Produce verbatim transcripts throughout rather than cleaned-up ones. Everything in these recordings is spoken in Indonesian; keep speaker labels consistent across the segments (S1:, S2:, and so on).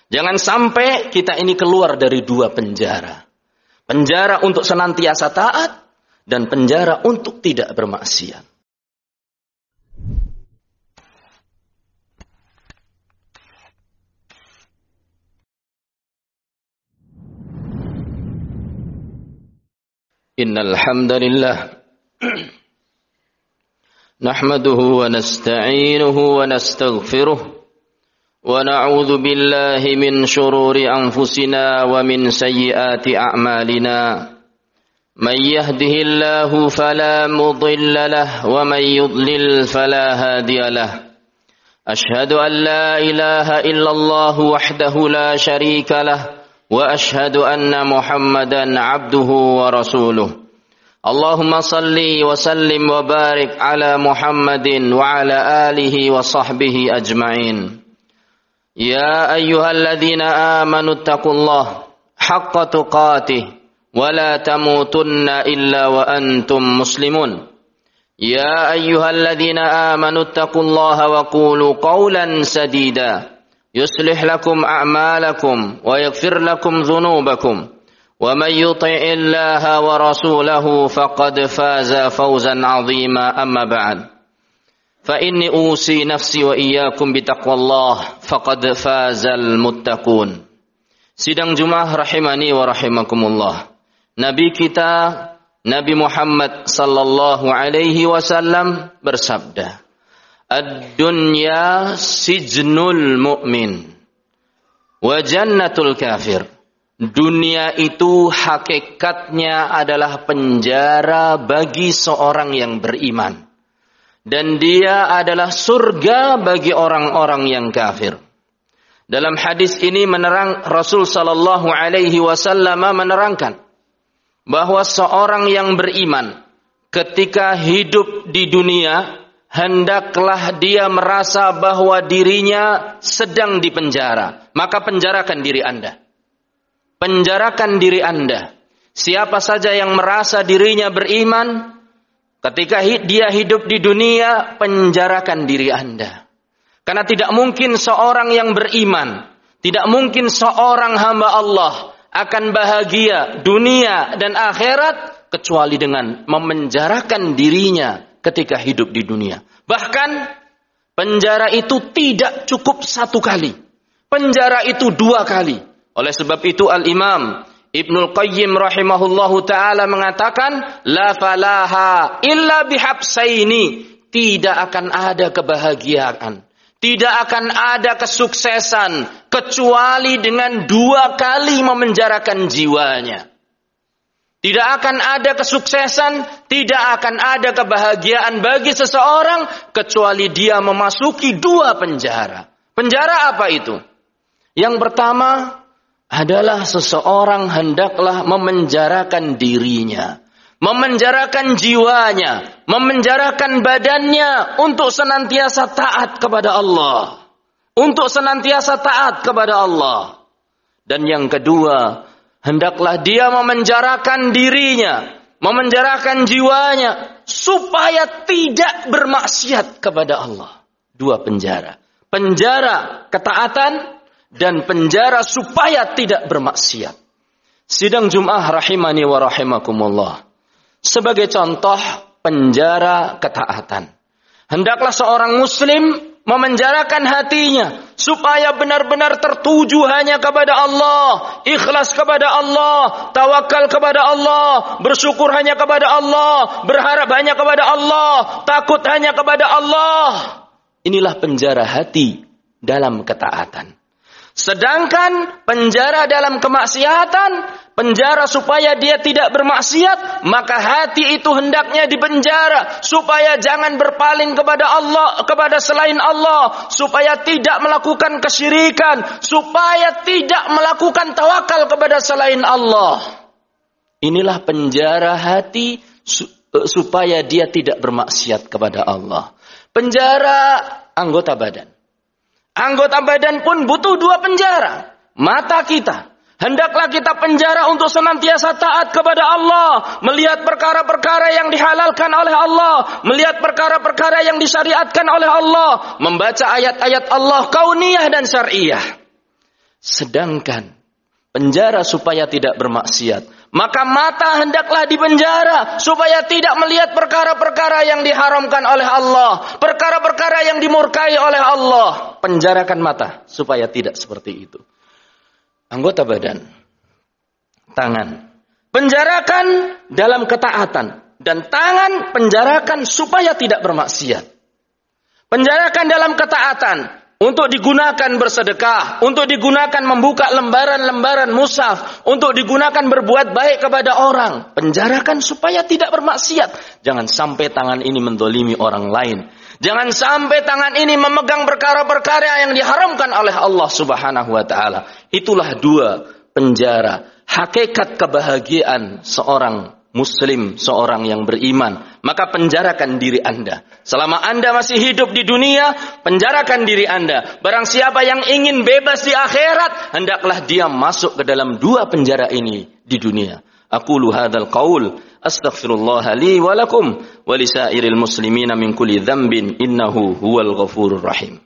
S1: Jangan sampai kita ini keluar dari dua penjara. Penjara untuk senantiasa taat dan penjara untuk tidak bermaksiat. Innal hamdalillah nahmaduhu wa nasta'inuhu wa nastaghfiruh wa na'udzu billahi min shururi anfusina wa min sayyiati a'malina may yahdihillahu fala mudilla lahu wa may yudlil fala hadiya lahu ashhadu an la ilaha illallah wahdahu la sharika lahu wa ashhadu anna Muhammadan abduhu wa rasuluh. Allahumma salli wa sallim wa barik ala Muhammadin wa ala alihi wa sahbihi ajma'in. Ya ayyuhalladzina amanu taqullaha haqqa tuqatih wa la tamutunna illa wa antum muslimun. Ya ayyuhalladzina amanu taqullaha wa qulu qawlan sadida يصلح لكم أعمالكم ويغفر لكم ذنوبكم ومن يطع الله ورسوله فقد فاز فوزا عظيما أما بعد فإني أوصي نفسي وإياكم بتقوى الله فقد فاز المتقون. Sidang Jumat rahimani wa rahimakumullah. Nabi kita Nabi Muhammad sallallahu alaihi wasallam bersabda, Ad-dunya sijnul mu'min wa jannatul kafir. Dunia itu hakikatnya adalah penjara bagi seorang yang beriman. Dan dia adalah surga bagi orang-orang yang kafir. Dalam hadis ini menerang Rasul sallallahu alaihi wasallam menerangkan bahwa seorang yang beriman ketika hidup di dunia hendaklah dia merasa bahwa dirinya sedang dipenjara. Maka penjarakan diri Anda. Penjarakan diri Anda. Siapa saja yang merasa dirinya beriman, ketika dia hidup di dunia, penjarakan diri Anda. Karena tidak mungkin seorang yang beriman, tidak mungkin seorang hamba Allah akan bahagia dunia dan akhirat kecuali dengan memenjarakan dirinya ketika hidup di dunia. Bahkan penjara itu tidak cukup satu kali. Penjara itu dua kali. Oleh sebab itu Al-Imam Ibnul Qayyim rahimahullahu ta'ala mengatakan, La falaha illa bihabsaini. Tidak akan ada kebahagiaan. Tidak akan ada kesuksesan kecuali dengan dua kali memenjarakan jiwanya. Tidak akan ada kesuksesan, tidak akan ada kebahagiaan bagi seseorang kecuali dia memasuki dua penjara. Penjara apa itu? Yang pertama adalah seseorang hendaklah memenjarakan dirinya, memenjarakan jiwanya, memenjarakan badannya untuk senantiasa taat kepada Allah. Untuk senantiasa taat kepada Allah. Dan yang kedua, hendaklah dia memenjarakan dirinya, memenjarakan jiwanya, supaya tidak bermaksiat kepada Allah. Dua penjara. Penjara ketaatan dan penjara supaya tidak bermaksiat. Sidang Jum'ah rahimani wa rahimakumullah. Sebagai contoh penjara ketaatan. Hendaklah seorang muslim memenjarakan hatinya supaya benar-benar tertuju hanya kepada Allah, ikhlas kepada Allah, tawakal kepada Allah, bersyukur hanya kepada Allah, berharap hanya kepada Allah, takut hanya kepada Allah. Inilah penjara hati dalam ketaatan. Sedangkan penjara dalam kemaksiatan, penjara supaya dia tidak bermaksiat, maka hati itu hendaknya dipenjara supaya jangan berpaling kepada Allah, kepada selain Allah, supaya tidak melakukan kesyirikan, supaya tidak melakukan tawakal kepada selain Allah. Inilah penjara hati supaya dia tidak bermaksiat kepada Allah. Penjara anggota badan. Anggota badan pun butuh dua penjara. Mata kita. Hendaklah kita penjara untuk senantiasa taat kepada Allah. Melihat perkara-perkara yang dihalalkan oleh Allah. Melihat perkara-perkara yang disyariatkan oleh Allah. Membaca ayat-ayat Allah kauniyah dan syar'iyah. Sedangkan penjara supaya tidak bermaksiat, maka mata hendaklah dipenjara supaya tidak melihat perkara-perkara yang diharamkan oleh Allah, perkara-perkara yang dimurkai oleh Allah. Penjarakan mata supaya tidak seperti itu. Anggota badan, tangan, penjarakan dalam ketaatan, dan tangan penjarakan supaya tidak bermaksiat. Penjarakan dalam ketaatan untuk digunakan bersedekah, untuk digunakan membuka lembaran-lembaran mushaf, untuk digunakan berbuat baik kepada orang. Penjarakan supaya tidak bermaksiat. Jangan sampai tangan ini mendolimi orang lain. Jangan sampai tangan ini memegang perkara-perkara yang diharamkan oleh Allah Subhanahu wa taala. Itulah dua penjara. Hakikat kebahagiaan seorang muslim, seorang yang beriman. Maka penjarakan diri Anda. Selama Anda masih hidup di dunia, penjarakan diri Anda. Barang siapa yang ingin bebas di akhirat, hendaklah dia masuk ke dalam dua penjara ini di dunia. Aqulu hadzal qaul astaghfirullah li wa lakum wa lisairil muslimina min kulli dzambin innahu huwal ghafurur rahim.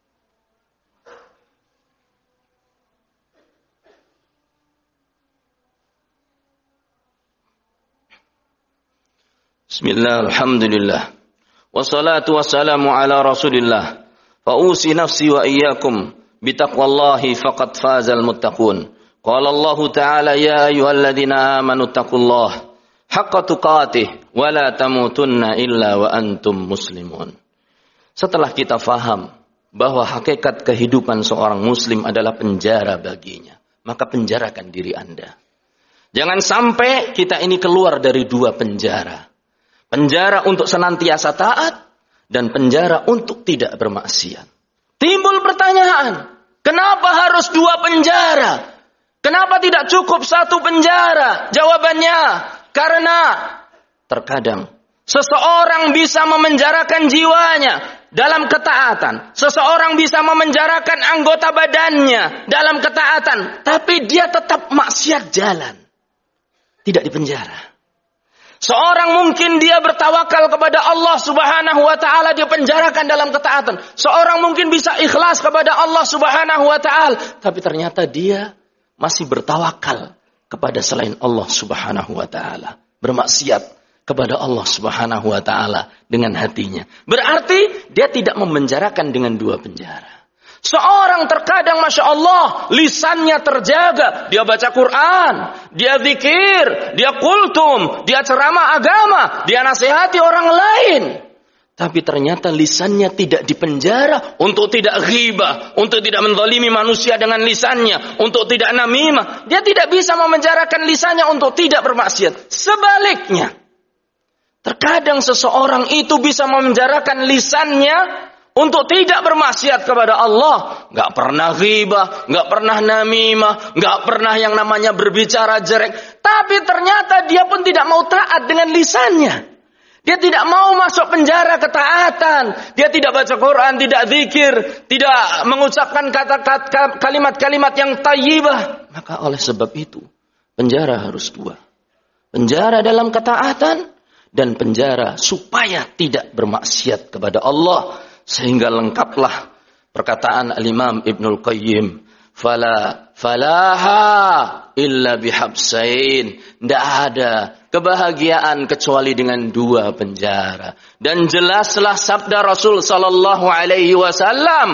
S1: Bismillah, alhamdulillah. Wassalatu wassalamu ala rasulillah. Fa'usi nafsi wa iyyakum bitaqwallahi faqad fazal muttaqun. Qala Allah Ta'ala ya ayyuhalladzina amanu taqullaha haqqa tuqatih wa la tamutunna illa wa antum muslimun. Setelah kita faham bahwa hakikat kehidupan seorang muslim adalah penjara baginya, maka penjarakan diri Anda. Jangan sampai kita ini keluar dari dua penjara. Penjara untuk senantiasa taat dan penjara untuk tidak bermaksiat. Timbul pertanyaan, kenapa harus dua penjara? Kenapa tidak cukup satu penjara? Jawabannya, karena terkadang seseorang bisa memenjarakan jiwanya dalam ketaatan. Seseorang bisa memenjarakan anggota badannya dalam ketaatan. Tapi dia tetap maksiat jalan. Tidak dipenjara. Seorang mungkin dia bertawakal kepada Allah Subhanahu wa taala, dia penjarakan dalam ketaatan. Seorang mungkin bisa ikhlas kepada Allah Subhanahu wa taala, tapi ternyata dia masih bertawakal kepada selain Allah Subhanahu wa taala, bermaksiat kepada Allah Subhanahu wa taala dengan hatinya. Berarti dia tidak memenjarakan dengan dua penjara. Seorang terkadang Masya Allah lisannya terjaga, dia baca Quran, dia zikir, dia kultum, dia ceramah agama, dia nasihati orang lain. Tapi ternyata lisannya tidak dipenjara untuk tidak ghibah, untuk tidak menzalimi manusia dengan lisannya, untuk tidak namimah. Dia tidak bisa memenjarakan lisannya untuk tidak bermaksiat. Sebaliknya, terkadang seseorang itu bisa memenjarakan lisannya untuk tidak bermaksiat kepada Allah. Gak pernah ghibah, gak pernah namimah, gak pernah yang namanya berbicara jelek. Tapi ternyata dia pun tidak mau taat dengan lisannya. Dia tidak mau masuk penjara ketaatan. Dia tidak baca Quran, tidak zikir, tidak mengucapkan kata-kata kalimat-kalimat yang thayyibah. Maka oleh sebab itu, penjara harus dua. Penjara dalam ketaatan dan penjara supaya tidak bermaksiat kepada Allah. Sehingga lengkaplah perkataan Al-Imam Ibnul Qayyim, fala falaha illa bihabsain. Tidak ada kebahagiaan kecuali dengan dua penjara. Dan jelaslah sabda Rasul sallallahu alaihi wasallam,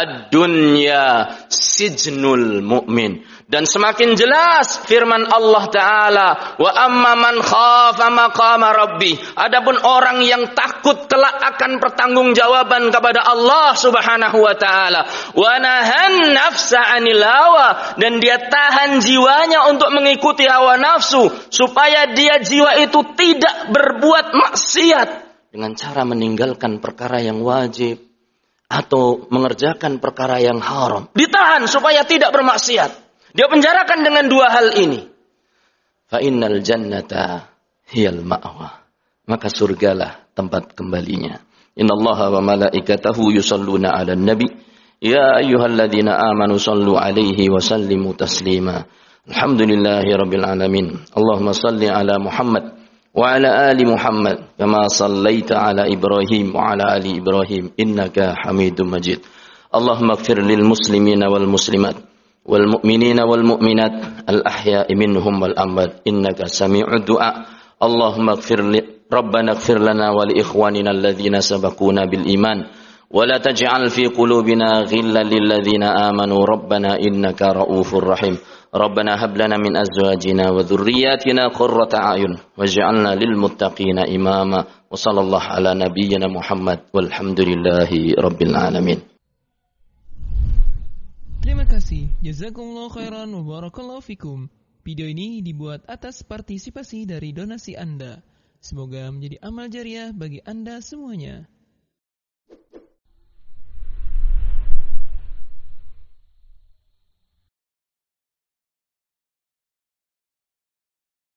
S1: ad-dunya sijnul mu'min. Dan semakin jelas firman Allah Ta'ala, wa amma man khafa maqama rabbi. Adapun orang yang takut kelak akan pertanggungjawaban kepada Allah Subhanahu wa taala, wa nahan nafsa 'anil hawa, dan dia tahan jiwanya untuk mengikuti hawa nafsu supaya dia jiwa itu tidak berbuat maksiat dengan cara meninggalkan perkara yang wajib atau mengerjakan perkara yang haram. Ditahan supaya tidak bermaksiat. Dia penjarakan dengan dua hal ini. Fa innal jannata hiyal ma'wa. Maka surgalah tempat kembalinya. Innallaha wa malaikatahu yusalluna 'alan nabi. Ya ayyuhalladzina amanu sallu 'alaihi wa sallimu taslima. Alhamdulillahirabbil alamin. Allahumma salli 'ala Muhammad wa 'ala ali Muhammad kama sallaita 'ala Ibrahim wa 'ala ali Ibrahim innaka Hamidum Majid. Allahumma ighfir lil muslimina wal muslimat والمؤمنين والمؤمنات الأحياء منهم والأموات إنك سميع الدعاء اللهم اغفر لي ربنا اغفر لنا ولإخواننا الذين سبقونا بالإيمان ولا تجعل في قلوبنا غلا للذين آمنوا ربنا إنك رؤوف رحيم ربنا هب لنا من أزواجنا وذرياتنا قرة أعين واجعلنا للمتقين إماما وصلى الله على نبينا محمد والحمد لله رب العالمين.
S2: Terima kasih. Jazakumullah khairan wa barakallahu fikum. Video ini dibuat atas partisipasi dari donasi Anda. Semoga menjadi amal jariah bagi Anda semuanya.